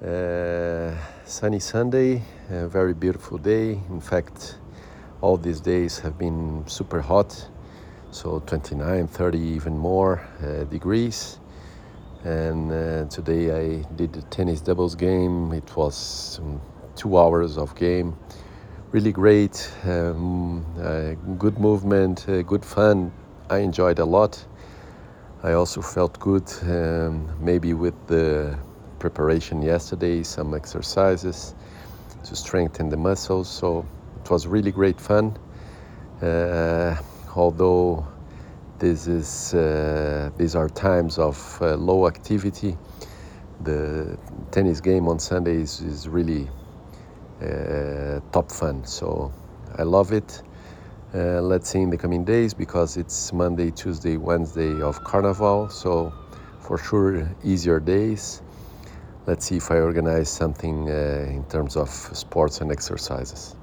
Sunny Sunday, a very beautiful day. In fact, all these days have been super hot, so 29, 30, even more degrees. And today I did the tennis doubles game. It was 2 hours of game. Really great, good movement, good fun. I enjoyed a lot. I also felt good, maybe with the preparation yesterday, some exercises to strengthen the muscles. So it was really great fun. Although these are times of low activity, the tennis game on Sunday is really top fun. So I love it. Let's see in the coming days, because it's Monday, Tuesday, Wednesday of Carnival, so for sure easier days. Let's see if I organize something in terms of sports and exercises.